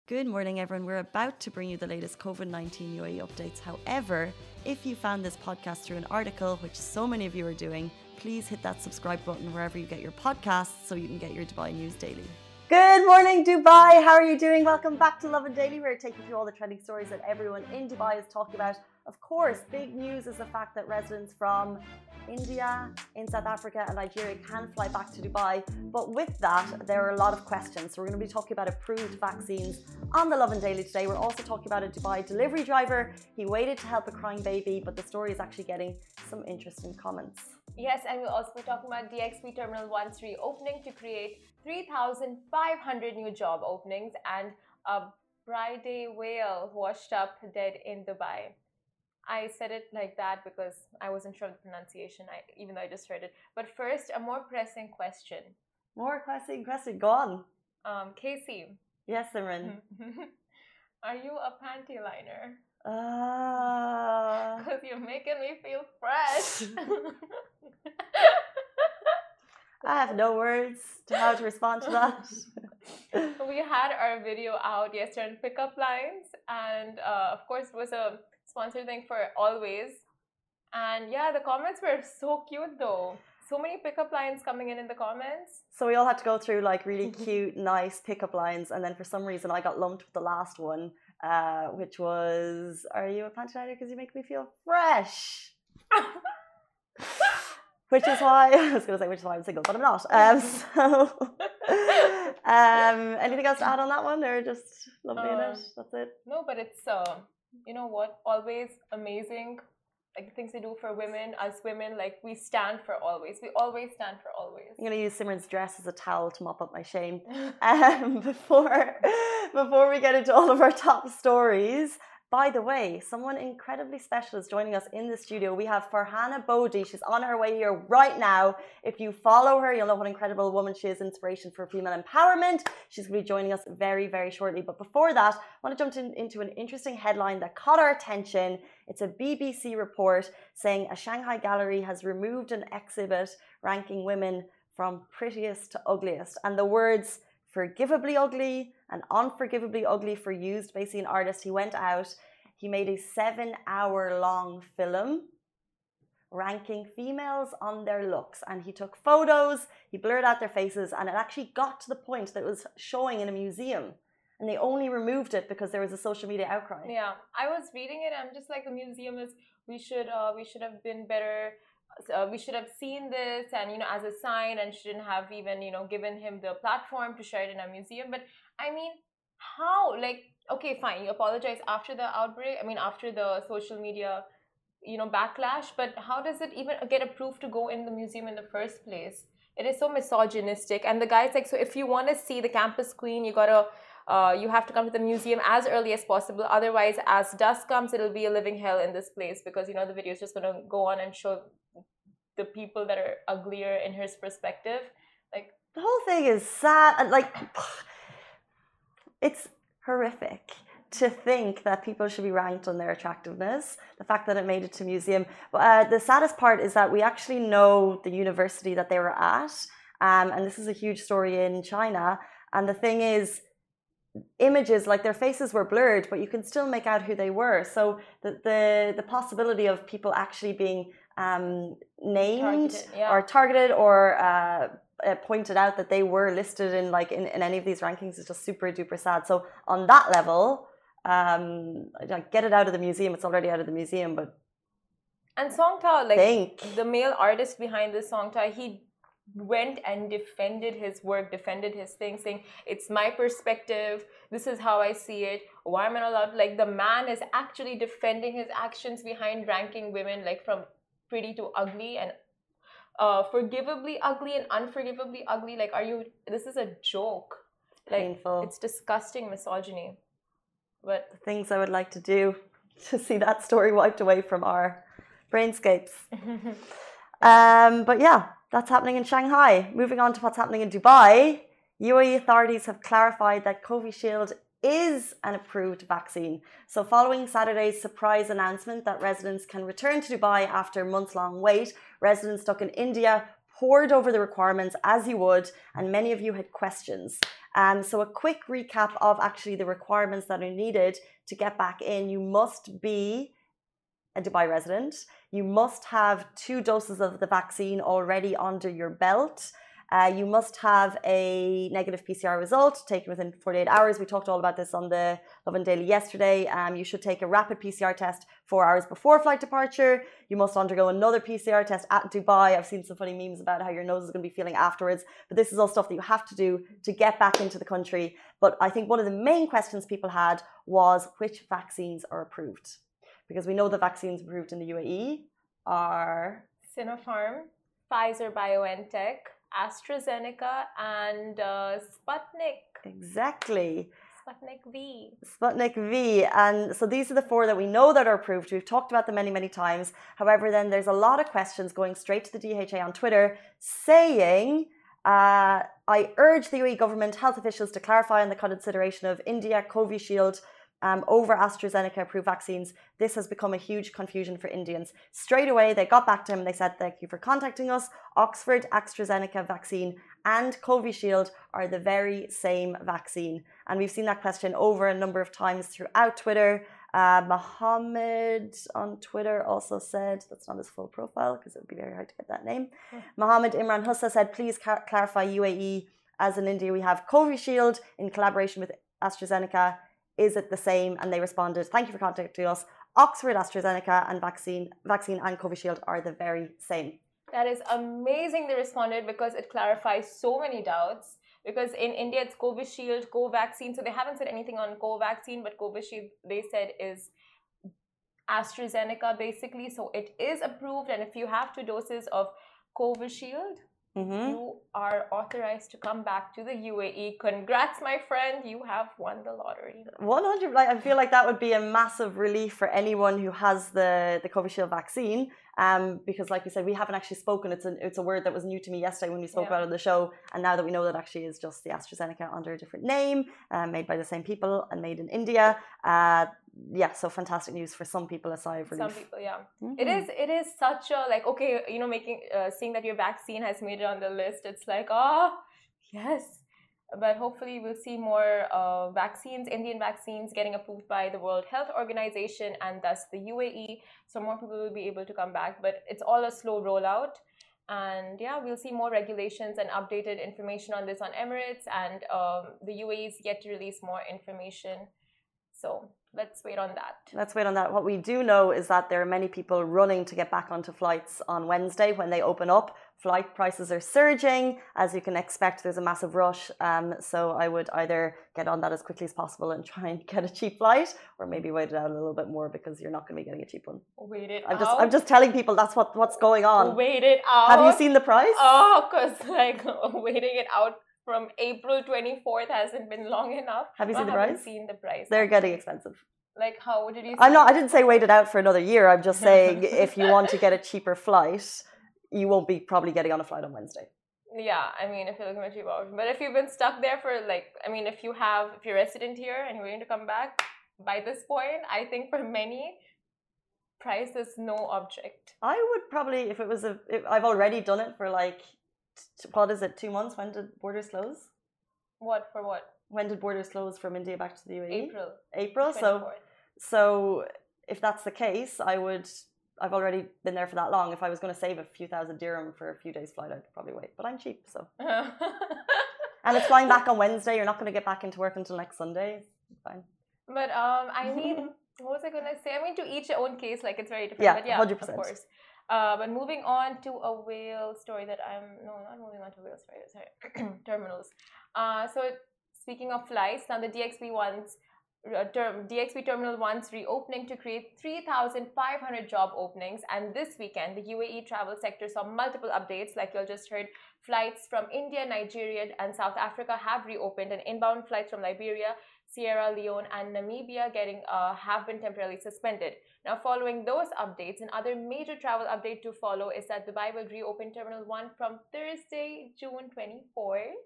Good morning, everyone. We're about to bring you the latest COVID-19 UAE updates. However, if you found this podcast through an article, which so many of you are doing, please hit that subscribe button wherever you get your podcasts so you can get your Dubai news daily. Good morning, Dubai. How are you doing? Welcome back to Lovin Daily. We're taking you through all the trending stories that everyone in Dubai is talking about. Of course, big news is the fact that residents from India, in South Africa and Nigeria can fly back to Dubai. But with that, there are a lot of questions. So we're going to be talking about approved vaccines on the Lovin Daily today. We're also talking about a Dubai delivery driver. He waited to help a crying baby, but the story is actually getting some interesting comments. Yes, and we'll also be talking about DXB Terminal 1's reopening to create 3,500 new job openings, and a Friday whale washed up dead in Dubai. I said it like that because I wasn't sure of the pronunciation, even though I just heard it. But first, a more pressing question. More pressing question. Go on. Casey. Yes, Simran. Are you a panty liner? Because you're making me feel fresh. I have no words to how to respond to that. We had our video out yesterday on pickup lines, and of course it was a sponsored thing for Always. And yeah, the comments were so cute though. So many pickup lines coming in the comments. So we all had to go through like really cute, nice pickup lines, and then for some reason I got lumped with the last one, which was, "Are you a panty liner because you make me feel fresh?" Which is why I was going to say, which is why I'm single, but I'm not. Anything else to add on that one, or just lovely in it? That's it. No, but it's you know what? Always amazing. Like things they do for women, as women, like we stand for Always. We always stand for Always. I'm going to use Simran's dress as a towel to mop up my shame. Before we get into all of our top stories, by the way, someone incredibly special is joining us in the studio. We have Farhana Bodhi. She's on her way here right now. If you follow her, you'll know what an incredible woman she is, inspiration for female empowerment. She's going to be joining us very, very shortly. But before that, I want to jump into an interesting headline that caught our attention. It's a BBC report saying a Shanghai gallery has removed an exhibit ranking women from prettiest to ugliest. And the words forgivably ugly and unforgivably ugly for used. Basically, an artist, he went out, he made a 7-hour-long film ranking females on their looks, and he took photos, he blurred out their faces, and it actually got to the point that it was showing in a museum, and they only removed it because there was a social media outcry. Yeah, I was reading it, I'm just like, the museum is, we should have been better. We should have seen this, and you know, as a sign, and shouldn't have even, you know, given him the platform to share it in a museum. But I mean, how? Like, okay, fine, you apologize after the outbreak, I mean after the social media, you know, backlash, but how does it even get approved to go in the museum in the first place? It is so misogynistic. And the guy's like, so if you want to see the campus queen, you gotta you have to come to the museum as early as possible. Otherwise, as dusk comes, it'll be a living hell in this place, because you know the video is just gonna go on and show the people that are uglier in his perspective. Like, the whole thing is sad, and like, it's horrific to think that people should be ranked on their attractiveness. The fact that it made it to museum. The saddest part is that we actually know the university that they were at, and this is a huge story in China. And the thing is, images, like their faces were blurred, but you can still make out who they were. So the possibility of people actually being named targeted or pointed out that they were listed in like in any of these rankings is just super duper sad. So on that level, get it out of the museum. It's already out of the museum. But and Songta, like the male artist behind this, Songta, he went and defended his work, defended his thing, saying it's my perspective, this is how I see it, why am I not allowed? Like, the man is actually defending his actions behind ranking women like from pretty to ugly, and forgivably ugly and unforgivably ugly. Like, this is a joke. Like, painful. It's disgusting misogyny. But the things I would like to do to see that story wiped away from our brainscapes. But yeah, that's happening in Shanghai. Moving on to what's happening in Dubai, UAE authorities have clarified that Covishield is an approved vaccine. So following Saturday's surprise announcement that residents can return to Dubai after months-long wait, residents stuck in India pored over the requirements as you would, and many of you had questions. So a quick recap of actually the requirements that are needed to get back in. You must be a Dubai resident. You must have 2 doses of the vaccine already under your belt. You must have a negative PCR result taken within 48 hours. We talked all about this on the Lovin Daily yesterday. You should take a rapid PCR test 4 hours before flight departure. You must undergo another PCR test at Dubai. I've seen some funny memes about how your nose is going to be feeling afterwards. But this is all stuff that you have to do to get back into the country. But I think one of the main questions people had was which vaccines are approved. Because we know the vaccines approved in the UAE are Sinopharm, Pfizer-BioNTech, AstraZeneca, and Sputnik. Exactly. Sputnik V. Sputnik V. And so these are the 4 that we know that are approved. We've talked about them many, many times. However, then there's a lot of questions going straight to the DHA on Twitter saying, I urge the UAE government health officials to clarify on the consideration of India Covishield over AstraZeneca approved vaccines. This has become a huge confusion for Indians. Straight away, they got back to him and they said, thank you for contacting us. Oxford AstraZeneca vaccine and Covishield are the very same vaccine. And we've seen that question over a number of times throughout Twitter. Mohammed on Twitter also said, that's not his full profile because it would be very hard to get that name. Mohammed Imran Hussa said, please clarify UAE. As in India, we have Covishield in collaboration with AstraZeneca. Is it the same? And they responded, thank you for contacting us. Oxford AstraZeneca and vaccine and Covishield are the very same. That is amazing they responded because it clarifies so many doubts. Because in India, it's Covishield, Covaxin. So they haven't said anything on Covaxin, but Covishield, they said, is AstraZeneca basically. So it is approved. And if you have 2 doses of Covishield, you are authorized to come back to the UAE. Congrats, my friend. You have won the lottery. 100%. I feel like that would be a massive relief for anyone who has the Covishield vaccine. Because like you said, we haven't actually spoken. It's a word that was new to me yesterday when we spoke about it on the show. And now that we know that actually is just the AstraZeneca under a different name, made by the same people and made in India. So fantastic news for some people, a sigh of relief. Some people, yeah. It is such a, like, okay, seeing that your vaccine has made it on the list, it's like, yes. But hopefully we'll see more vaccines, Indian vaccines getting approved by the World Health Organization and thus the UAE. So more people will be able to come back. But it's all a slow rollout. And yeah, we'll see more regulations and updated information on this on Emirates. And the UAE is yet to release more information. So let's wait on that. What we do know is that there are many people running to get back onto flights on Wednesday when they open up. Flight prices are surging. As you can expect, there's a massive rush. So I would either get on that as quickly as possible and try and get a cheap flight, or maybe wait it out a little bit more because you're not going to be getting a cheap one. Wait it out. I'm just telling people that's what's going on. Wait it out. Have you seen the price? Because waiting it out from April 24th hasn't been long enough. Have you seen the price? I haven't seen the price. They're getting expensive. Like, how did you see I didn't say wait it out for another year. I'm just saying if you want to get a cheaper flight, you won't be probably getting on a flight on Wednesday. Yeah, I mean, if you're looking at cheap option. But if you've been stuck there for if you're resident here and you're waiting to come back, by this point, I think for many, price is no object. I would probably, if I've already done it for what is it, 2 months? When did borders close? What, for what? When did borders close from India back to the UAE? April. So if that's the case, I've already been there for that long. If I was going to save a few thousand dirham for a few days flight, I'd probably wait. But I'm cheap, so. And it's flying back on Wednesday. You're not going to get back into work until next Sunday. It's fine. But I mean, what was I going to say? I mean, to each their own case, it's very different. Yeah, but yeah, 100%. Of course. But moving on to a whale story not moving on to whale story, sorry, terminals. So speaking of flights, now the DXB Terminal 1's reopening to create 3,500 job openings. And this weekend, the UAE travel sector saw multiple updates. Like you just heard, flights from India, Nigeria, and South Africa have reopened, and inbound flights from Liberia, Sierra Leone, and Namibia have been temporarily suspended. Now, following those updates, another major travel update to follow is that Dubai will reopen Terminal 1 from Thursday, June 24th.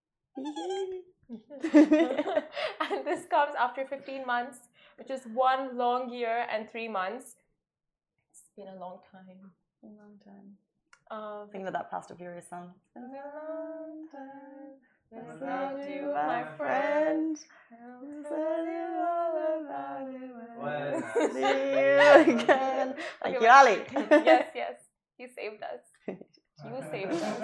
And this comes after 15 months, which is 1 long year and 3 months. It's been a long time. A long time. Thinking of that Fast and Furious song. It's been a long time. without you, my friend. I'll tell you all about it when I see you again. Thank you, Ali. Yes, yes. You saved us. You saved us.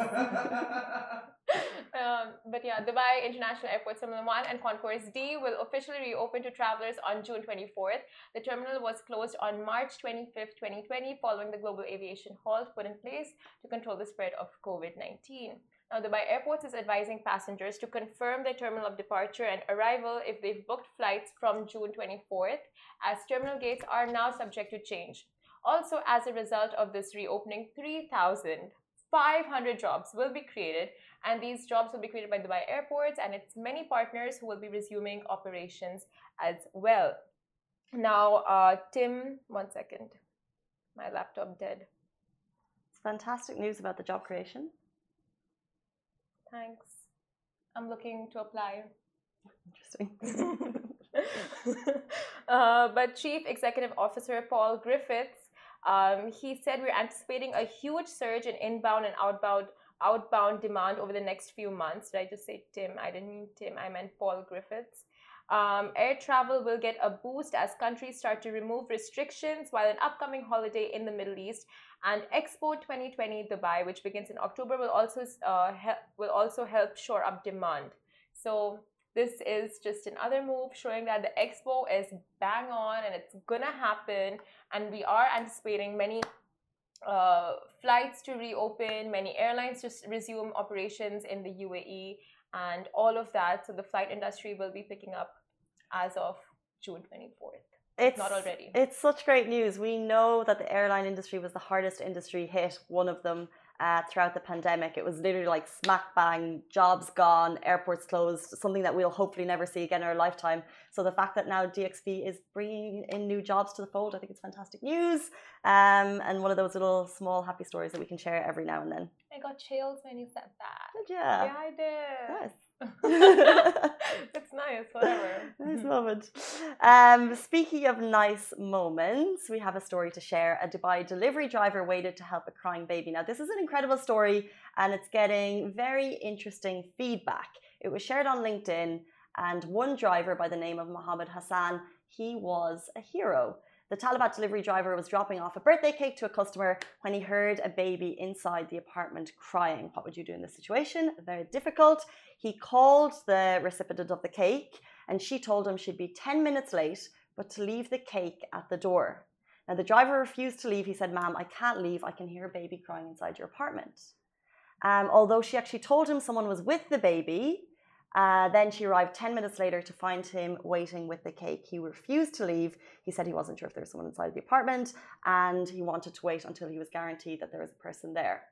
But yeah, Dubai International Airport Terminal 1 and Concourse D will officially reopen to travelers on June 24th. The terminal was closed on March 25th, 2020, following the global aviation halt put in place to control the spread of COVID-19. Now, Dubai Airports is advising passengers to confirm their terminal of departure and arrival if they've booked flights from June 24th, as terminal gates are now subject to change. Also, as a result of this reopening, 3,500 jobs will be created, and these jobs will be created by Dubai Airports and its many partners who will be resuming operations as well. Now, Tim, 1 second. My laptop dead. It's fantastic news about the job creation. Thanks. I'm looking to apply. Interesting. But Chief Executive Officer Paul Griffiths, he said we're anticipating a huge surge in inbound and outbound demand over the next few months. Did I just say Tim? I didn't mean Tim. I meant Paul Griffiths. Air travel will get a boost as countries start to remove restrictions, while an upcoming holiday in the Middle East and Expo 2020 Dubai, which begins in October, will also help shore up demand. So this is just another move showing that the Expo is bang on and it's gonna happen. And we are anticipating many flights to reopen, many airlines to resume operations in the UAE, and all of that. So the flight industry will be picking up as of June 24th. It's not already. It's such great news. We know that the airline industry was the hardest industry hit, one of them, throughout the pandemic. It was literally like smack bang, jobs gone, airports closed, something that we'll hopefully never see again in our lifetime. So the fact that now DXB is bringing in new jobs to the fold, I think it's fantastic news. And one of those little small happy stories that we can share every now and then. I got chills when you said that. Did you? Yeah, I did. Nice. It's nice, whatever. Nice moment. Speaking of nice moments, we have a story to share. A Dubai delivery driver waited to help a crying baby. Now, this is an incredible story and it's getting very interesting feedback. It was shared on LinkedIn, and one driver by the name of Mohammed Hassan, he was a hero. The Talabat delivery driver was dropping off a birthday cake to a customer when he heard a baby inside the apartment crying. What would you do in this situation? Very difficult. He called the recipient of the cake and she told him she'd be 10 minutes late, but to leave the cake at the door. Now, the driver refused to leave. He said, "Ma'am, I can't leave. I can hear a baby crying inside your apartment." Although she actually told him someone was with the baby, then she arrived 10 minutes later to find him waiting with the cake. He refused to leave. He said he wasn't sure if there was someone inside the apartment and he wanted to wait until he was guaranteed that there was a person there.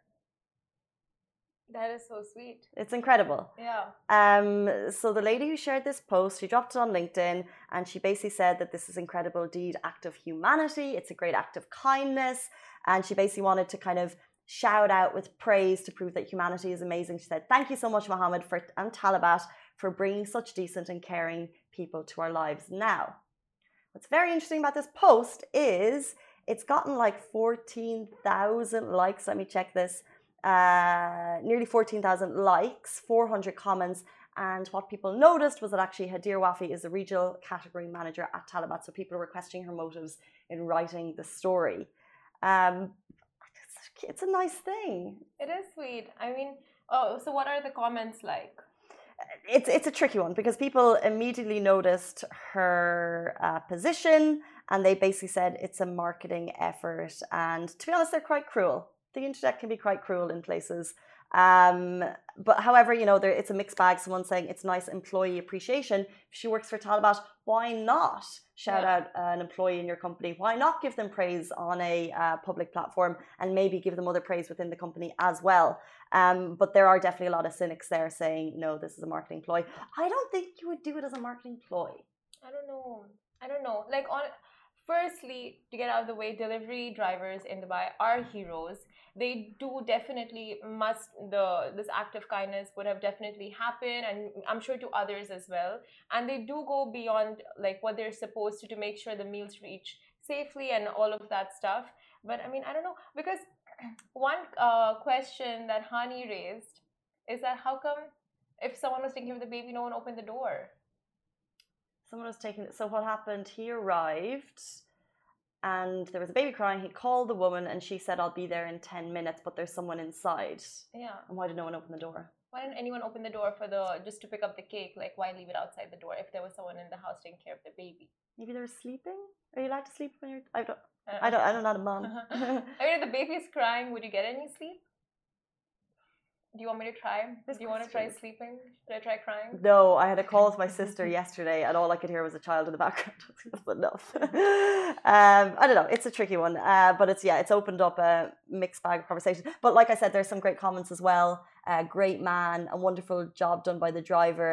That is so sweet. It's incredible. Yeah. So the lady who shared this post, she dropped it on LinkedIn and she basically said that this is incredible deed, act of humanity. It's a great act of kindness. And she basically wanted to kind of shout out with praise to prove that humanity is amazing. She said, "Thank you so much, Mohammed and Talabat, for bringing such decent and caring people to our lives." Now, what's very interesting about this post is it's gotten like 14,000 likes. Let me check this. Nearly 14,000 likes, 400 comments. And what people noticed was that actually Hadir Wafi is the regional category manager at Talabat. So people were questioning her motives in writing the story. It's a nice thing. It is sweet. I mean, so what are the comments like? It's a tricky one because people immediately noticed her position and they basically said it's a marketing effort. And to be honest, they're quite cruel. The internet can be quite cruel in places. But however, you know, it's a mixed bag. Someone saying it's nice employee appreciation. If she works for Talabat, why not shout out an employee in your company? Why not give them praise on a public platform and maybe give them other praise within the company as well? But there are definitely a lot of cynics there saying, no, this is a marketing ploy. I don't think you would do it as a marketing ploy. I don't know. Like, firstly, to get out of the way, delivery drivers in Dubai are heroes. They do definitely this act of kindness would have definitely happened, and I'm sure to others as well. And they do go beyond like what they're supposed to make sure the meals reach safely and all of that stuff. But I mean, I don't know, because one question that Hani raised is that how come if someone was taking care of the baby, no one opened the door. Someone was taking it. So what happened? He arrived and there was a baby crying. He called the woman and she said, I'll be there in 10 minutes, but there's someone inside. Yeah. And why did no one open the door? Why didn't anyone open the door for just to pick up the cake? Like, why leave it outside the door if there was someone in the house taking care of the baby? Maybe they were sleeping? Are you allowed to sleep when you're... I don't I'm not a mom. I mean, if the baby is crying, would you get any sleep? Do you want me to try? Do you want to try sleeping? Should I try crying? No, I had a call with my sister yesterday and all I could hear was a child in the background. That's enough. I don't know. It's a tricky one. But it's opened up a mixed bag of conversation. But like I said, there's some great comments as well. Great man, a wonderful job done by the driver.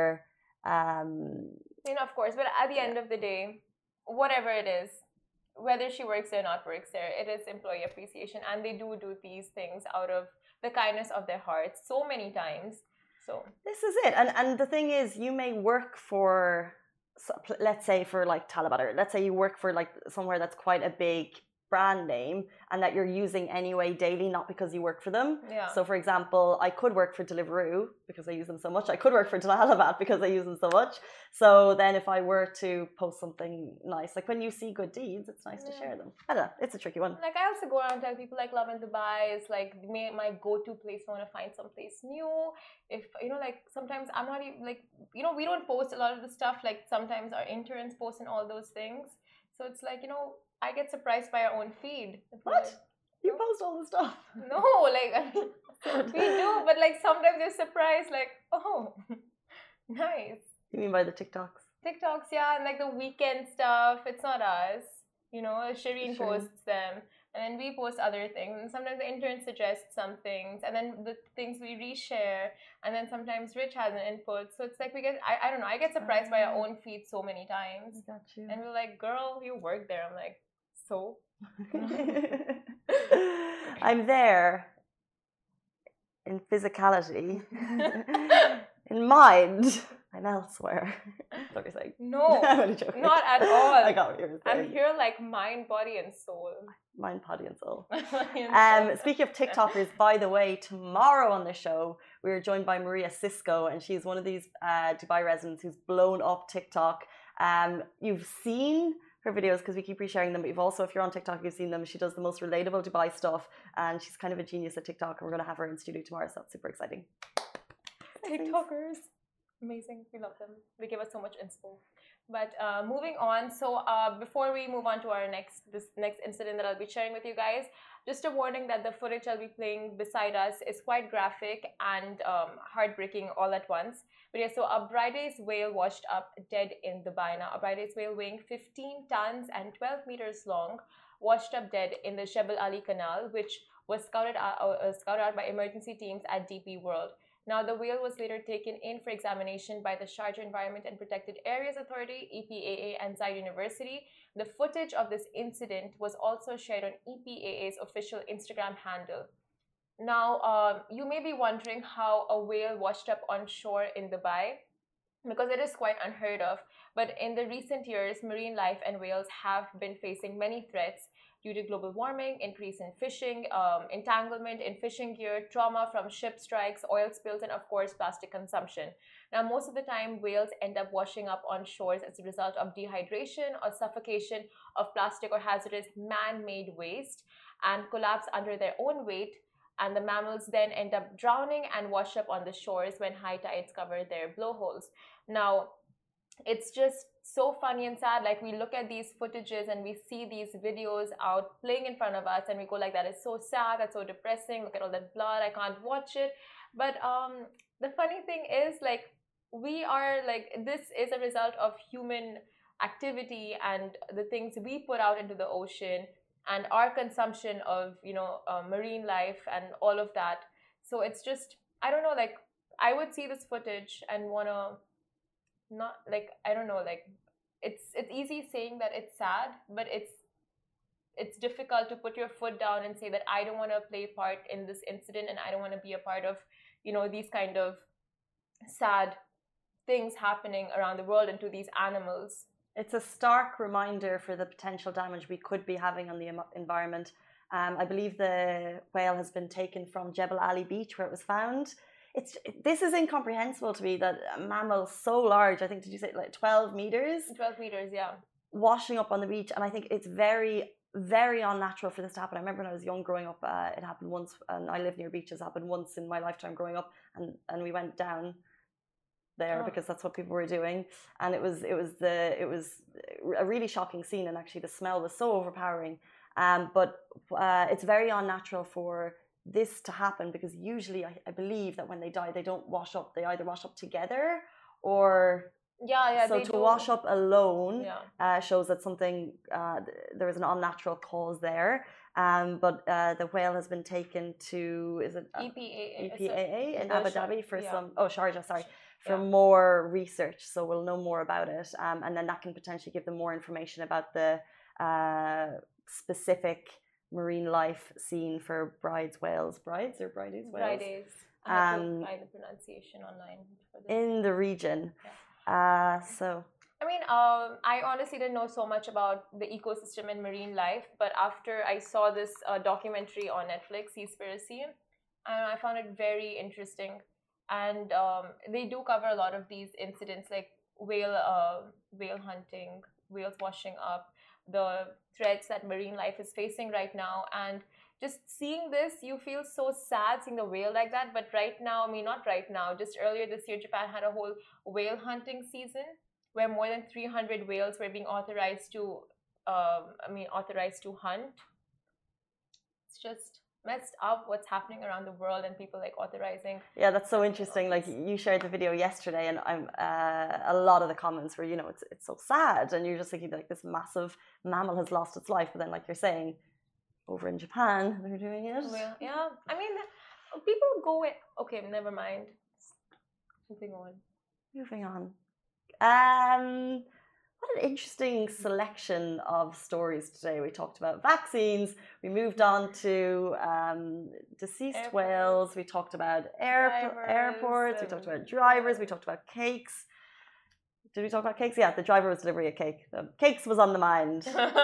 Of course. But at the end of the day, whatever it is, whether she works there or not works there, it is employee appreciation. And they do these things out of the kindness of their hearts so many times. So this is it. And the thing is, you may work for, let's say for like Talabat, or let's say you work for like somewhere that's quite a big brand name and that you're using anyway daily, not because you work for them. Yeah. So for example, I could work for Deliveroo because I use them so much. I could work for Talabat because I use them so much. So then if I were to post something nice, like when you see good deeds, it's nice to share them. I don't know. It's a tricky one. Like I also go around and tell people like Love in Dubai is like my go-to place when I want to find someplace new. If, like sometimes I'm not even like, we don't post a lot of the stuff. Like sometimes our interns post and all those things. So it's like, I get surprised by our own feed. What? Like, you post all the stuff? No, like we do, but like sometimes you're surprised, like, oh, nice. You mean by the TikToks? TikToks, yeah, and like the weekend stuff. It's not us, Shireen posts them, and then we post other things. And sometimes the intern suggests some things, and then the things we reshare, and then sometimes Rich has an input. So it's like we get, I don't know, I get surprised by our own feed so many times. I got you. And we're like, girl, you work there. I'm like, so? I'm there in physicality. In mind, I'm elsewhere. That's what you're saying. No, I'm only joking. not at all. I got what you were saying. I'm here like mind, body, and soul. Mind, body, and soul. And speaking of TikTokers, by the way, tomorrow on the show, we are joined by Maria Cisco, and she's one of these Dubai residents who's blown up TikTok. You've seen her videos because we keep resharing them, but you've also, if you're on TikTok, you've seen them. She does the most relatable Dubai stuff, and she's kind of a genius at TikTok, and we're going to have her in studio tomorrow, so that's super exciting. TikTokers, amazing. We love them. They give us so much inspo. But moving on, so before we move on to this next incident that I'll be sharing with you guys, just a warning that the footage I'll be playing beside us is quite graphic and heartbreaking all at once. But yeah, so a Bryde's whale washed up dead in Dubai. Now, a Bryde's whale weighing 15 tons and 12 meters long washed up dead in the Jebel Ali Canal, which was scouted out by emergency teams at DP World. Now, the whale was later taken in for examination by the Sharjah Environment and Protected Areas Authority, EPAA, and Zayed University. The footage of this incident was also shared on EPAA's official Instagram handle. Now, you may be wondering how a whale washed up on shore in Dubai, because it is quite unheard of. But in the recent years, marine life and whales have been facing many threats due to global warming, increase in fishing, entanglement in fishing gear, trauma from ship strikes, oil spills, and of course, plastic consumption. Now, most of the time, whales end up washing up on shores as a result of dehydration or suffocation of plastic or hazardous man-made waste and collapse under their own weight. And the mammals then end up drowning and wash up on the shores when high tides cover their blowholes. Now, it's just so funny and sad. Like, we look at these footages and we see these videos out playing in front of us and we go like, that is so sad, that's so depressing, look at all that blood, I can't watch it. But the funny thing is, like, we are like, this is a result of human activity and the things we put out into the ocean and our consumption of, marine life and all of that. So it's just, I don't know, like, I would see this footage and want to not, like, I don't know, like, it's easy saying that it's sad, but it's difficult to put your foot down and say that I don't want to play part in this incident and I don't want to be a part of, these kind of sad things happening around the world and to these animals. It's a stark reminder for the potential damage we could be having on the environment. I believe the whale has been taken from Jebel Ali Beach, where it was found. this is incomprehensible to me that a mammal so large, I think, did you say like 12 meters? 12 meters, yeah. Washing up on the beach. And I think it's very, very unnatural for this to happen. I remember when I was young growing up, it happened once, and I live near beaches, it happened once in my lifetime growing up, and we went down there because that's what people were doing, and it was a really shocking scene, and actually the smell was so overpowering. But it's very unnatural for this to happen, because usually I believe that when they die they don't wash up, they either wash up together or so to wash up alone shows that something there is an unnatural cause there. But the whale has been taken to, is it EPAA in Abu Dhabi for some Sharjah, sorry, for more research, so we'll know more about it, and then that can potentially give them more information about the specific marine life seen for brides whales. Brides or brides whales? Brides. I have to find the pronunciation online for this. In the region. So I mean, I honestly didn't know so much about the ecosystem and marine life, but after I saw this documentary on Netflix, Seaspiracy, I found it very interesting. And they do cover a lot of these incidents, like whale hunting, whales washing up, the threats that marine life is facing right now. And just seeing this, you feel so sad seeing the whale like that. But right now, I mean, not right now, just earlier this year, Japan had a whole whale hunting season where more than 300 whales were being authorized to hunt. It's just messed up what's happening around the world, and people like authorizing. Yeah, that's so interesting. Like, you shared the video yesterday, and I'm a lot of the comments were, you know, it's so sad, and you're just thinking like this massive mammal has lost its life, but then like you're saying, over in Japan they're doing it. Well, yeah, I mean, people go in. Okay, never mind. Moving on. What an interesting selection of stories today. We talked about vaccines, we moved on to deceased whales, we talked about airports, we talked about drivers, we talked about cakes. Did we talk about cakes? Yeah, the driver was delivering a cake. The cakes was on the mind.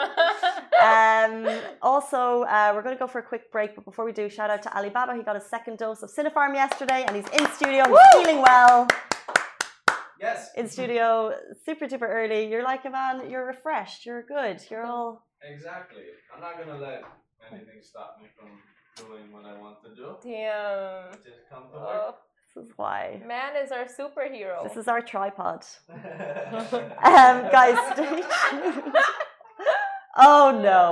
Also, we're going to go for a quick break, but before we do, shout out to Alibaba. He got his second dose of Sinopharm yesterday, and he's in studio. He's feeling well. Yes. In studio, super duper early. You're like, man, you're refreshed. You're good. You're all. Exactly. I'm not gonna let anything stop me from doing what I want to do. Damn. Just come to work. This is why. Man is our superhero. This is our tripod. Guys, stay tuned. Oh no.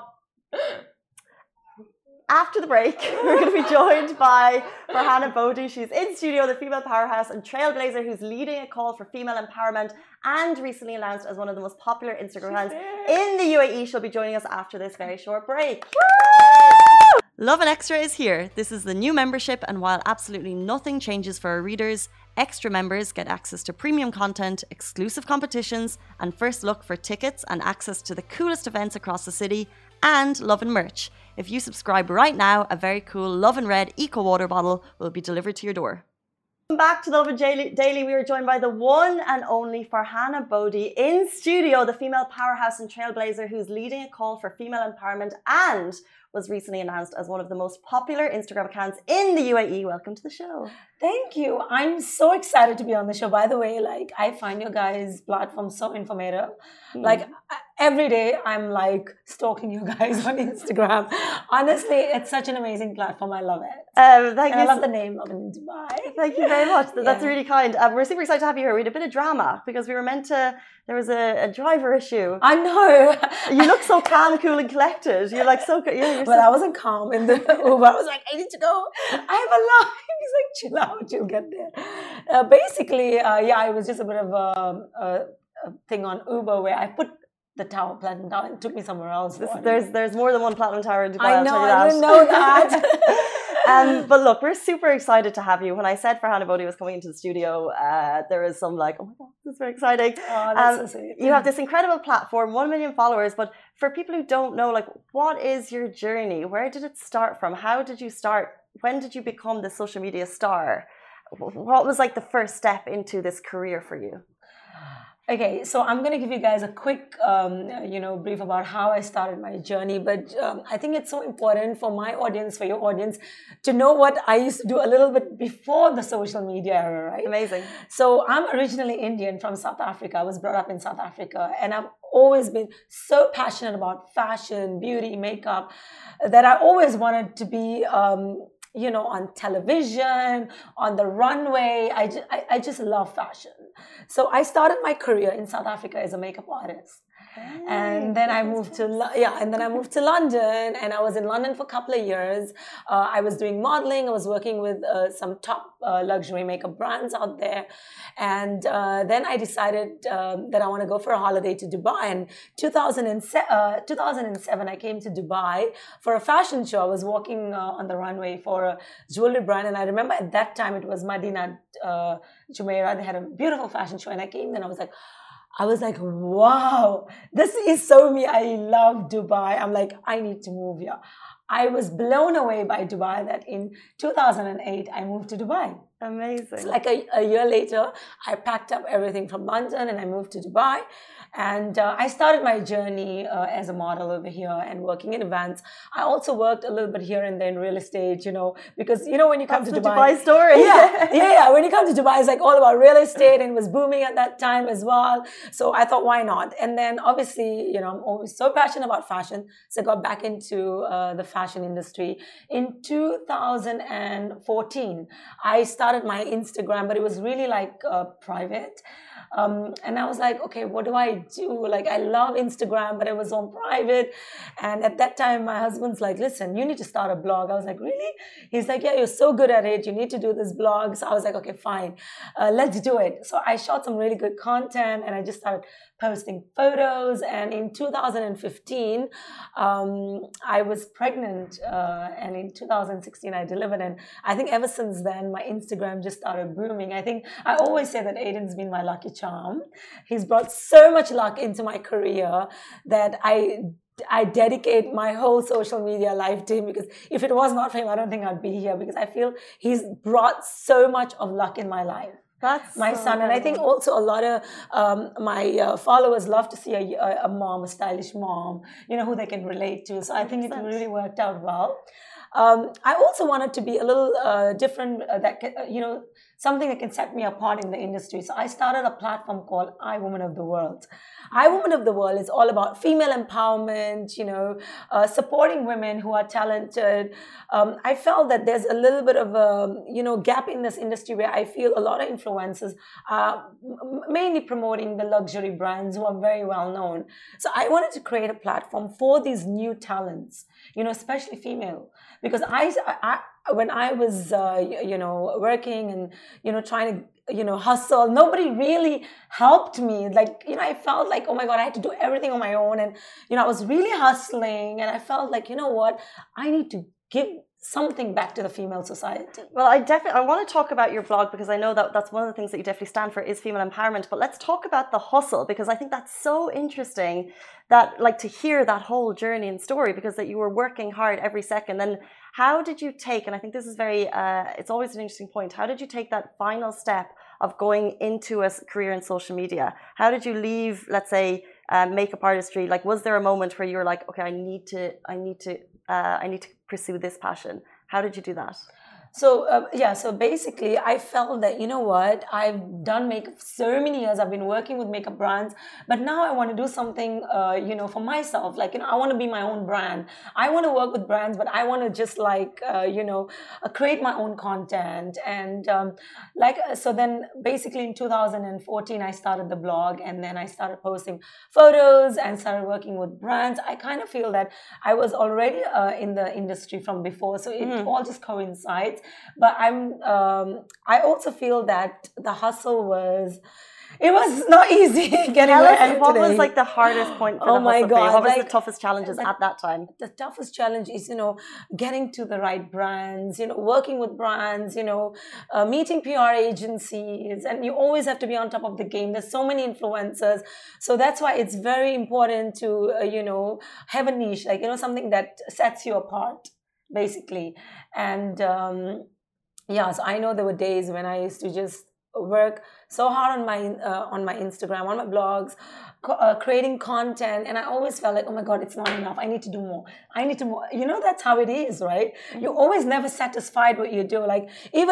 After the break, we're going to be joined by Farhana Bodhi. She's in studio, the female powerhouse and trailblazer who's leading a call for female empowerment and recently announced as one of the most popular Instagram accounts in the UAE. She'll be joining us after this very short break. Lovin Extra is here. This is the new membership, and while absolutely nothing changes for our readers, extra members get access to premium content, exclusive competitions, and first look for tickets and access to the coolest events across the city, and Lovin merch. If you subscribe right now, a very cool Lovin Red Eco Water bottle will be delivered to your door. Welcome back to the Lovin Daily. We are joined by the one and only Farhana Bodhi in studio, the female powerhouse and trailblazer who's leading a call for female empowerment and was recently announced as one of the most popular Instagram accounts in the UAE. Welcome to the show. Thank you. I'm so excited to be on the show. By the way, like, I find your guys' platform so informative. Like, every day I'm like stalking you guys on Instagram. Honestly, it's such an amazing platform. I love it. Thank you. I love the name Lovin in Dubai. Thank you very much. That's really kind. We're super excited to have you here. We had a bit of drama because we were meant to. There was a driver issue. I know. You look so calm, cool, and collected. You're like so. Well, I wasn't calm in the Uber. I was like, I need to go. I have a line. He's like, chill out. You'll get there. Basically, it was just a bit of a thing on Uber where I put the platinum tower, and took me somewhere else. There's more than one platinum tower in Dubai. I know. I didn't know that. But look, we're super excited to have you. When I said Farhana Bodhi was coming into the studio, there was some like, oh my God, this is very exciting. Oh, that's so sweet. You have this incredible platform, 1 million followers. But for people who don't know, like, what is your journey? Where did it start from? How did you start? When did you become the social media star? What was like the first step into this career for you? Okay, so I'm going to give you guys a quick, brief about how I started my journey. But I think it's so important for my audience, for your audience, to know what I used to do a little bit before the social media era, right? Amazing. So I'm originally Indian from South Africa. I was brought up in South Africa, and I've always been so passionate about fashion, beauty, makeup, that I always wanted to be on television, on the runway. I just love fashion. So I started my career in South Africa as a makeup artist. And then I moved to London, and I was in London for a couple of years. I was doing modeling. I was working with some top luxury makeup brands out there, and then I decided that I want to go for a holiday to Dubai. And 2007, I came to Dubai for a fashion show. I was walking on the runway for a jewelry brand, and I remember at that time it was Madinat Jumeirah. They had a beautiful fashion show, and I came there and I was like, wow, this is so me. I love Dubai. I'm like, I need to move here. I was blown away by Dubai that in 2008, I moved to Dubai. Amazing. So like a year later, I packed up everything from London and I moved to Dubai. And I started my journey as a model over here and working in events. I also worked a little bit here and there in real estate, because, when you come That's to the Dubai. Dubai story. Yeah. When you come to Dubai, it's like all about real estate, and it was booming at that time as well. So I thought, why not? And then obviously, I'm always so passionate about fashion. So I got back into the fashion industry. In 2014, I started my Instagram, but it was really like private. And I was like, okay, what do I do? Like, I love Instagram, but it was on private. And at that time, my husband's like, listen, you need to start a blog. I was like, really? He's like, yeah, you're so good at it. You need to do this blog. So I was like, okay, fine. Let's do it. So I shot some really good content, and I just started posting photos. And in 2015, I was pregnant. And in 2016, I delivered. And I think ever since then, my Instagram just started booming. I think I always say that Aidan's been my lucky charm. He's brought so much luck into my career that I dedicate my whole social media life to him, because if it was not for him, I don't think I'd be here, because I feel he's brought so much of luck in my life. That's my so son. And I think also a lot of my followers love to see a mom, a stylish mom, who they can relate to. So I think it really worked out well. I also wanted to be a little different, something that can set me apart in the industry. So I started a platform called I Woman of the World. I Woman of the World is all about female empowerment, supporting women who are talented. I felt that there's a little bit of a, gap in this industry where I feel a lot of influencers are mainly promoting the luxury brands who are very well known. So I wanted to create a platform for these new talents, especially female. Because when I was, working and, trying to, hustle, nobody really helped me. Like, I felt like, oh my God, I had to do everything on my own. And, I was really hustling. And I felt like, what? I need to give something back to the female society. Well, I want to talk about your blog, because I know that that's one of the things that you definitely stand for is female empowerment. But let's talk about the hustle, because I think that's so interesting, that like to hear that whole journey and story, because that you were working hard every second. Then how did you take, and I think this is very, it's always an interesting point, how did you take that final step of going into a career in social media? How did you leave, let's say, makeup artistry? Like, was there a moment where you were like, okay, I need to pursue this passion? How did you do that? So basically I felt that, I've done makeup so many years. I've been working with makeup brands, but now I want to do something, for myself. Like, I want to be my own brand. I want to work with brands, but I want to just create my own content. And so then basically in 2014, I started the blog, and then I started posting photos and started working with brands. I kind of feel that I was already in the industry from before. So it all just coincides. But I also feel that the hustle was not easy getting where I am today. What was like the hardest point for the hustle for you? What was the toughest challenges at that time? The toughest challenge is, getting to the right brands, working with brands, meeting PR agencies, and you always have to be on top of the game. There's so many influencers. So that's why it's very important to, have a niche, like, something that sets you apart, basically. And so I know there were days when I used to just work so hard on my Instagram, on my blogs, creating content, and I always felt like, oh my God, it's not enough. I need to do more. I need to more. You know, that's how it is, right? You're always never satisfied what you do. Like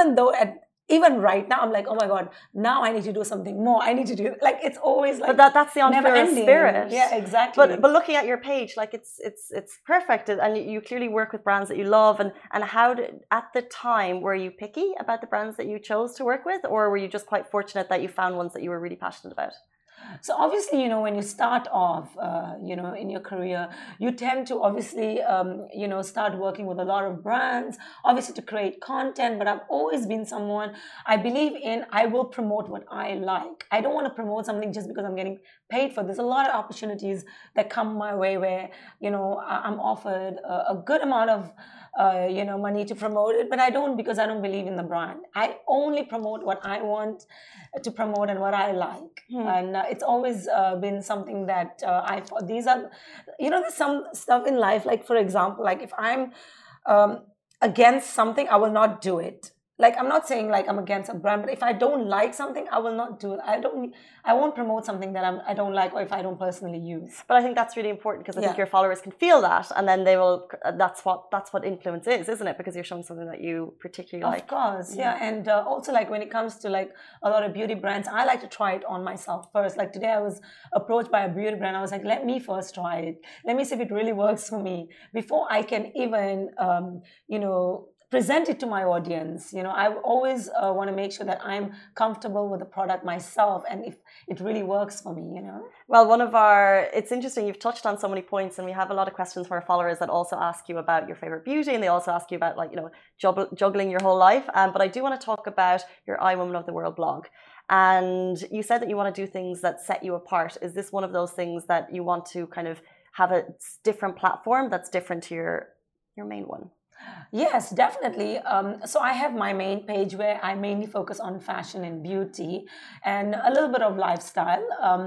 even right now, I'm like, oh my God, now I need to do something more. I need to do, like, it's always like, but that's the entrepreneur spirit. Yeah, exactly. But looking at your page, like it's perfect, and you clearly work with brands that you love. And how did, at the time, were you picky about the brands that you chose to work with, or were you just quite fortunate that you found ones that you were really passionate about? So obviously, you know, when you start off, you know, in your career, you tend to obviously, you know, start working with a lot of brands, obviously to create content. But I've always been someone, I believe in, I will promote what I like. I don't want to promote something just because I'm getting paid for. There's a lot of opportunities that come my way where, you know, I'm offered a good amount of, you know, money to promote it, but I don't, because I don't believe in the brand. I only promote what I want to promote and what I like. And it's always been something that I thought, these are, you know, there's some stuff in life, like for example, like if I'm against something, I will not do it. Like, I'm not saying like I'm against a brand, but if I don't like something, I will not do it. I won't promote something that I don't like, or if I don't personally use. But I think that's really important, because I think your followers can feel that, and then they will. That's what influence is, isn't it? Because you're showing something that you particularly like. Of course, yeah. And also, like when it comes to like a lot of beauty brands, I like to try it on myself first. Like today, I was approached by a beauty brand. I was like, let me first try it. Let me see if it really works for me before I can even, you know, present it to my audience. You know, I always want to make sure that I'm comfortable with the product myself, and if it really works for me, you know. Well, it's interesting, you've touched on so many points, and we have a lot of questions from our followers that also ask you about your favorite beauty, and they also ask you about, like, you know, juggling your whole life. But I do want to talk about your I Woman of the World blog. And you said that you want to do things that set you apart. Is this one of those things that you want to kind of have a different platform that's different to your main one? Yes, definitely. So I have my main page where I mainly focus on fashion and beauty and a little bit of lifestyle.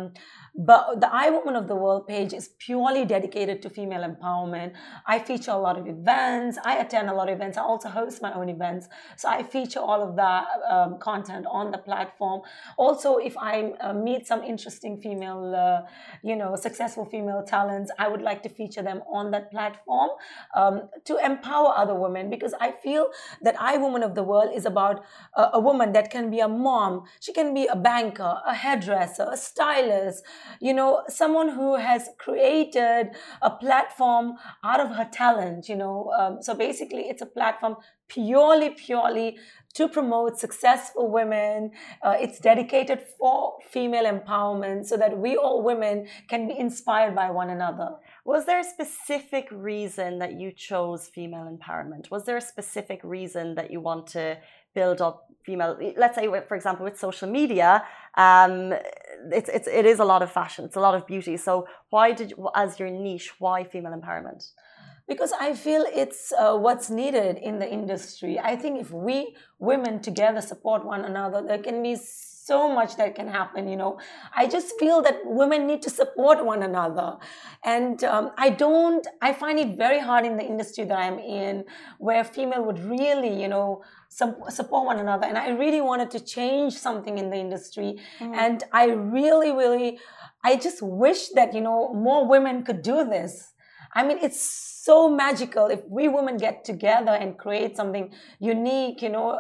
But the I Woman of the World page is purely dedicated to female empowerment. I feature a lot of events. I attend a lot of events. I also host my own events. So I feature all of that content on the platform. Also, if I meet some interesting female, you know, successful female talents, I would like to feature them on that platform to empower other women, because I feel that I Woman of the World is about a woman that can be a mom. She can be a banker, a hairdresser, a stylist, you know, someone who has created a platform out of her talent, you know. So basically, it's a platform purely to promote successful women. It's dedicated for female empowerment so that we all women can be inspired by one another. Was there a specific reason that you chose female empowerment? Was there a specific reason that you want to build up female, let's say, for example, with social media, it is a lot of fashion, it's a lot of beauty. So why as your niche, why female empowerment? Because I feel it's what's needed in the industry. I think if we women together support one another, there can be so much that can happen, you know. I just feel that women need to support one another. And I find it very hard in the industry that I'm in, where female would really, you know, support one another. And I really wanted to change something in the industry. And I really, I just wish that, you know, more women could do this. I mean, it's so magical if we women get together and create something unique, you know.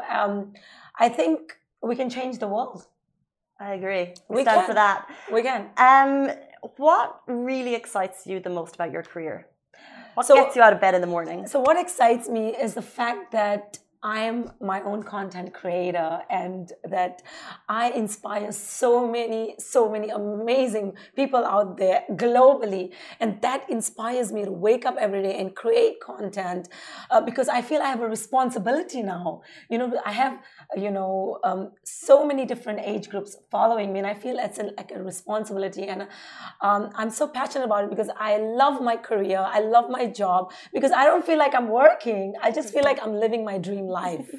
I think we can change the world. I agree. We stand for that. We can. What really excites you the most about your career? What gets you out of bed in the morning? So what excites me is the fact that I'm my own content creator, and that I inspire so many amazing people out there globally. And that inspires me to wake up every day and create content, because I feel I have a responsibility now. You know, I have, you know, so many different age groups following me, and I feel it's like a responsibility. And I'm so passionate about it because I love my career. I love my job, because I don't feel like I'm working. I just feel like I'm living my dream life. To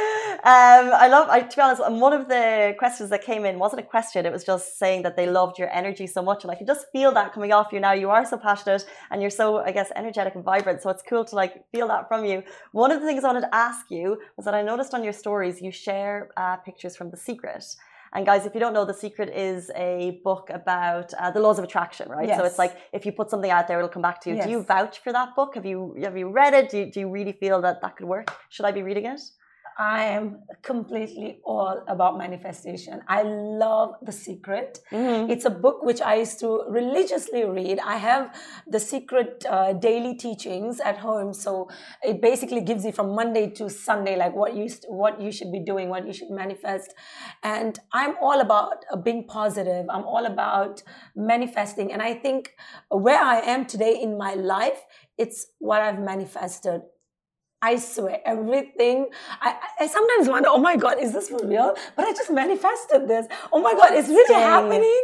be honest, one of the questions that came in wasn't a question, it was just saying that they loved your energy so much, and I can just feel that coming off you now. You are so passionate and you're so, I guess, energetic and vibrant, so it's cool to like feel that from you. One of the things I wanted to ask you was that I noticed on your stories you share pictures from The Secret, And guys, if you don't know, The Secret is a book about the laws of attraction, right? Yes. So it's like if you put something out there, it'll come back to you. Yes. Do you vouch for that book? Have you read it? Do you really feel that could work? Should I be reading it? I am completely all about manifestation. I love The Secret. Mm-hmm. It's a book which I used to religiously read. I have The Secret daily teachings at home. So it basically gives you from Monday to Sunday, like what you should be doing, what you should manifest. And I'm all about being positive. I'm all about manifesting. And I think where I am today in my life, it's what I've manifested. I swear, everything. I sometimes wonder, oh my God, is this for real? But I just manifested this. Oh my God, it's really happening.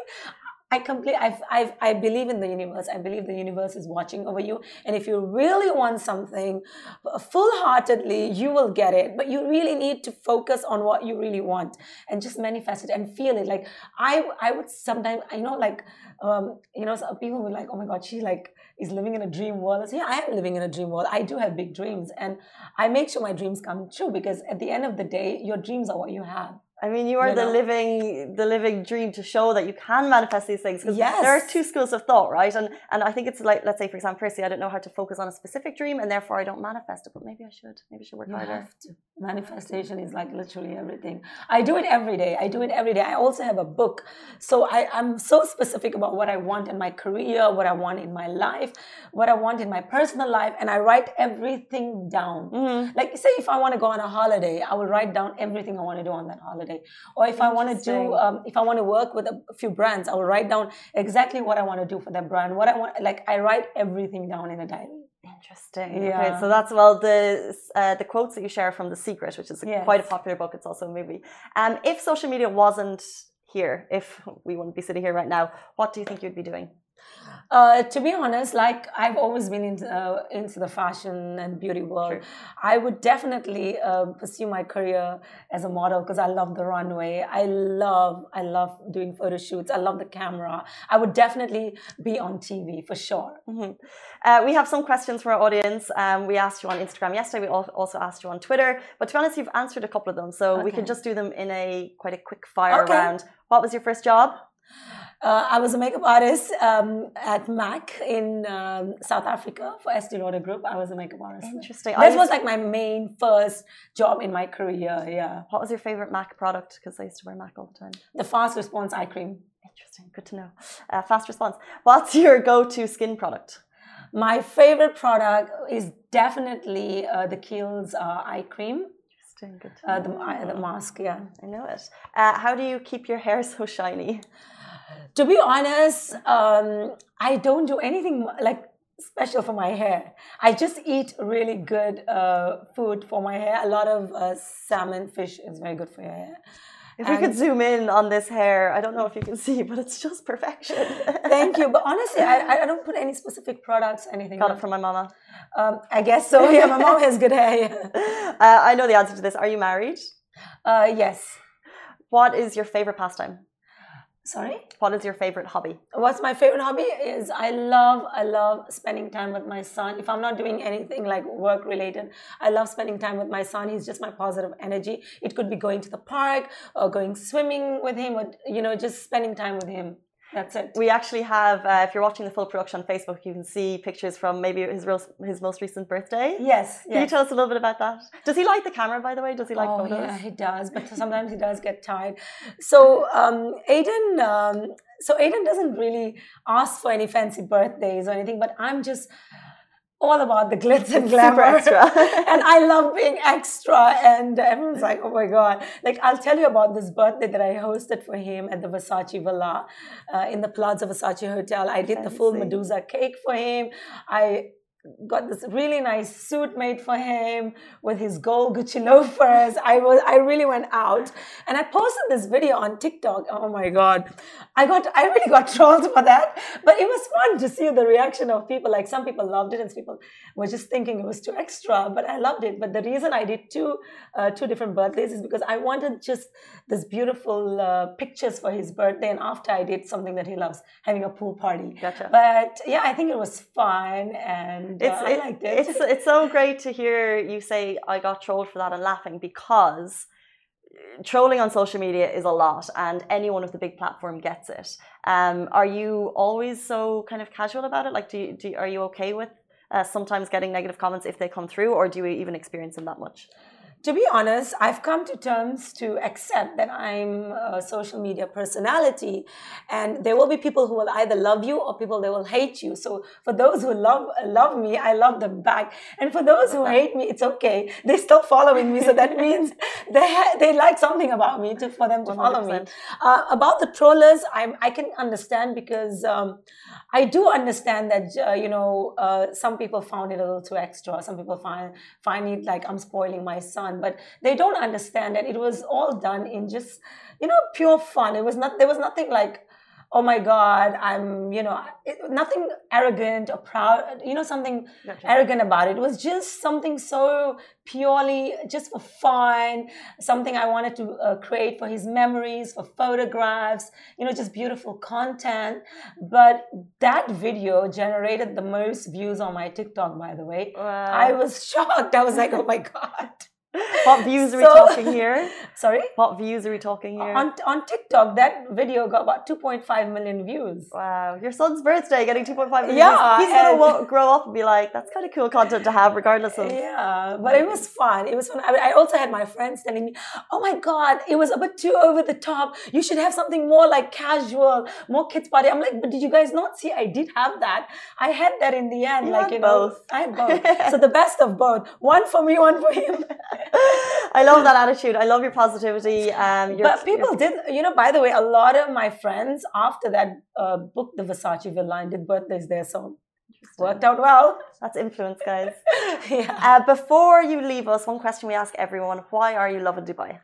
I believe in the universe. I believe the universe is watching over you. And if you really want something full-heartedly, you will get it. But you really need to focus on what you really want and just manifest it and feel it. Like I would sometimes, some people were like, oh my God, she is living in a dream world. I say, yeah, I am living in a dream world. I do have big dreams, and I make sure my dreams come true, because at the end of the day, your dreams are what you have. I mean, you are the living dream to show that you can manifest these things. Because there are two schools of thought, right? And I think it's like, let's say, for example, Percy, I don't know how to focus on a specific dream, and therefore I don't manifest it. But maybe I should. Maybe I should work harder. Have to. Manifestation is like literally everything. I do it every day. I also have a book. So I'm so specific about what I want in my career, what I want in my life, what I want in my personal life. And I write everything down. Mm-hmm. Like, say, if I want to go on a holiday, I will write down everything I want to do on that holiday. Or if I want to do, if I want to work with a few brands, I will write down exactly what I want to do for that brand. What I want, I write everything down in a diary. Interesting. Yeah. Okay, so that's the quotes that you share from The Secret, which is quite a popular book. It's also a movie. If social media wasn't here, if we wouldn't be sitting here right now, what do you think you'd be doing? To be honest, I've always been into the fashion and beauty world. Sure. I would definitely pursue my career as a model, because I love the runway. I love doing photo shoots. I love the camera. I would definitely be on TV for sure. Mm-hmm. We have some questions from our audience. We asked you on Instagram yesterday. We also asked you on Twitter. But to be honest, you've answered a couple of them. So we can just do them in quite a quick fire round. What was your first job? I was a makeup artist at MAC in South Africa for Estée Lauder Group. I was a makeup artist. Interesting. This was my main first job in my career, yeah. What was your favorite MAC product? Because I used to wear MAC all the time. The Fast Response Eye Cream. Interesting. Good to know. Fast Response. What's your go-to skin product? My favorite product is definitely the Kiehl's eye cream. Interesting. Good to know. The mask, yeah. I know it. How do you keep your hair so shiny? To be honest, I don't do anything special for my hair. I just eat really good food for my hair. A lot of salmon, fish is very good for your hair. If we could zoom in on this hair, I don't know if you can see, but it's just perfection. Thank you. But honestly, I don't put any specific products, anything. Got it from my mama. I guess so. Yeah, my mom has good hair. I know the answer to this. Are you married? Yes. What is your favorite pastime? Sorry? What is your favorite hobby? What's my favorite hobby is I love spending time with my son. If I'm not doing anything like work related, I love spending time with my son. He's just my positive energy. It could be going to the park or going swimming with him, or just spending time with him. That's it. We actually have, if you're watching the full production on Facebook, you can see pictures from maybe his most recent birthday. Yes. Can you tell us a little bit about that? Does he like the camera, by the way? Does he like photos? Yeah, he does, but sometimes he does get tired. So Aiden doesn't really ask for any fancy birthdays or anything, but I'm just all about the glitz and glamour. Super extra. And I love being extra. And everyone's like, oh my God. I'll tell you about this birthday that I hosted for him at the Versace Villa in the Plaza Versace Hotel. I did the full Medusa cake for him. I got this really nice suit made for him with his gold Gucci loafers. I really went out, and I posted this video on TikTok. Oh my God. I really got trolled for that, but it was fun to see the reaction of people. Like, some people loved it and some people were just thinking it was too extra, but I loved it. But the reason I did two different birthdays is because I wanted just this beautiful pictures for his birthday, and after I did something that he loves, having a pool party. Gotcha. But yeah, I think it was fun, and I liked it. It's so great to hear you say I got trolled for that and laughing, because trolling on social media is a lot, and anyone with the big platform gets it. Are you always so kind of casual about it? Like, are you okay with sometimes getting negative comments if they come through, or do you even experience them that much? To be honest, I've come to terms to accept that I'm a social media personality, and there will be people who will either love you or people they will hate you. So for those who love me, I love them back, and for those who hate me, it's okay. They're still following me, so that means they like something about me for them to 100%. Follow me. About the trollers, I can understand, because I do understand that some people found it a little too extra. Some people find it like I'm spoiling my son. But they don't understand that it was all done in just, pure fun. There was nothing like, oh my God, I'm, nothing arrogant or proud, something arrogant about it. It was just something so purely just for fun, something I wanted to create for his memories, for photographs, just beautiful content. But that video generated the most views on my TikTok, by the way. Wow. I was shocked. I was like, oh my God. What views are we talking here? Sorry? What views are we talking here? On TikTok, that video got about 2.5 million views. Wow. Your son's birthday getting 2.5 million views. He's going to grow up and be like, that's kind of cool content to have regardless of... Yeah, but it was fun. It was fun. I also had my friends telling me, oh my God, it was a bit too over the top. You should have something more like casual, more kids party. I'm like, but did you guys not see? I did have that. I had that in the end. Both. I had both. So the best of both. One for me, one for him. I love that attitude. I love your positivity. But people did, by the way, a lot of my friends after that booked the Versace Villa and did birthdays there. So worked out well. That's influence, guys. Yeah. Before you leave us, one question we ask everyone: why are you loving Dubai?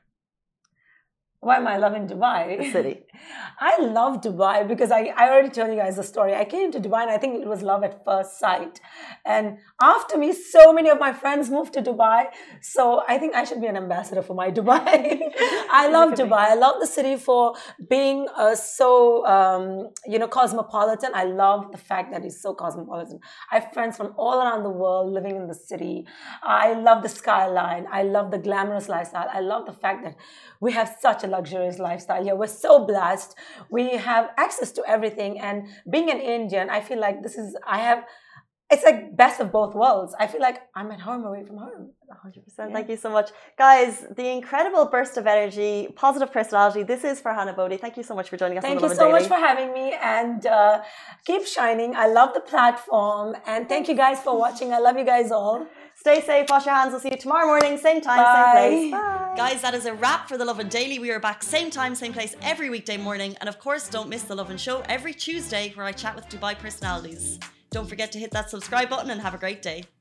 Why am I loving Dubai? The city. I love Dubai because I already told you guys the story. I came to Dubai and I think it was love at first sight. And after me, so many of my friends moved to Dubai. So I think I should be an ambassador for my Dubai. I love Dubai. I love the city for being so cosmopolitan. I love the fact that it's so cosmopolitan. I have friends from all around the world living in the city. I love the skyline. I love the glamorous lifestyle. I love the fact that we have such a luxurious lifestyle here. We're so blessed. We have access to everything. And being an Indian, I feel like it's like best of both worlds. I feel like I'm at home away from home. 100%. Yeah. Thank you so much. Guys, the incredible burst of energy, positive personality. This is Farhana Bodhi. Thank you so much for joining us. Thank you so much for having me, and keep shining. I love the platform, and thank you guys for watching. I love you guys all. Stay safe, wash your hands. We'll see you tomorrow morning, same time, Bye. same place. Bye. Guys, that is a wrap for The Lovin Daily. We are back same time, same place every weekday morning. And of course, don't miss The Lovin Show every Tuesday where I chat with Dubai personalities. Don't forget to hit that subscribe button and have a great day.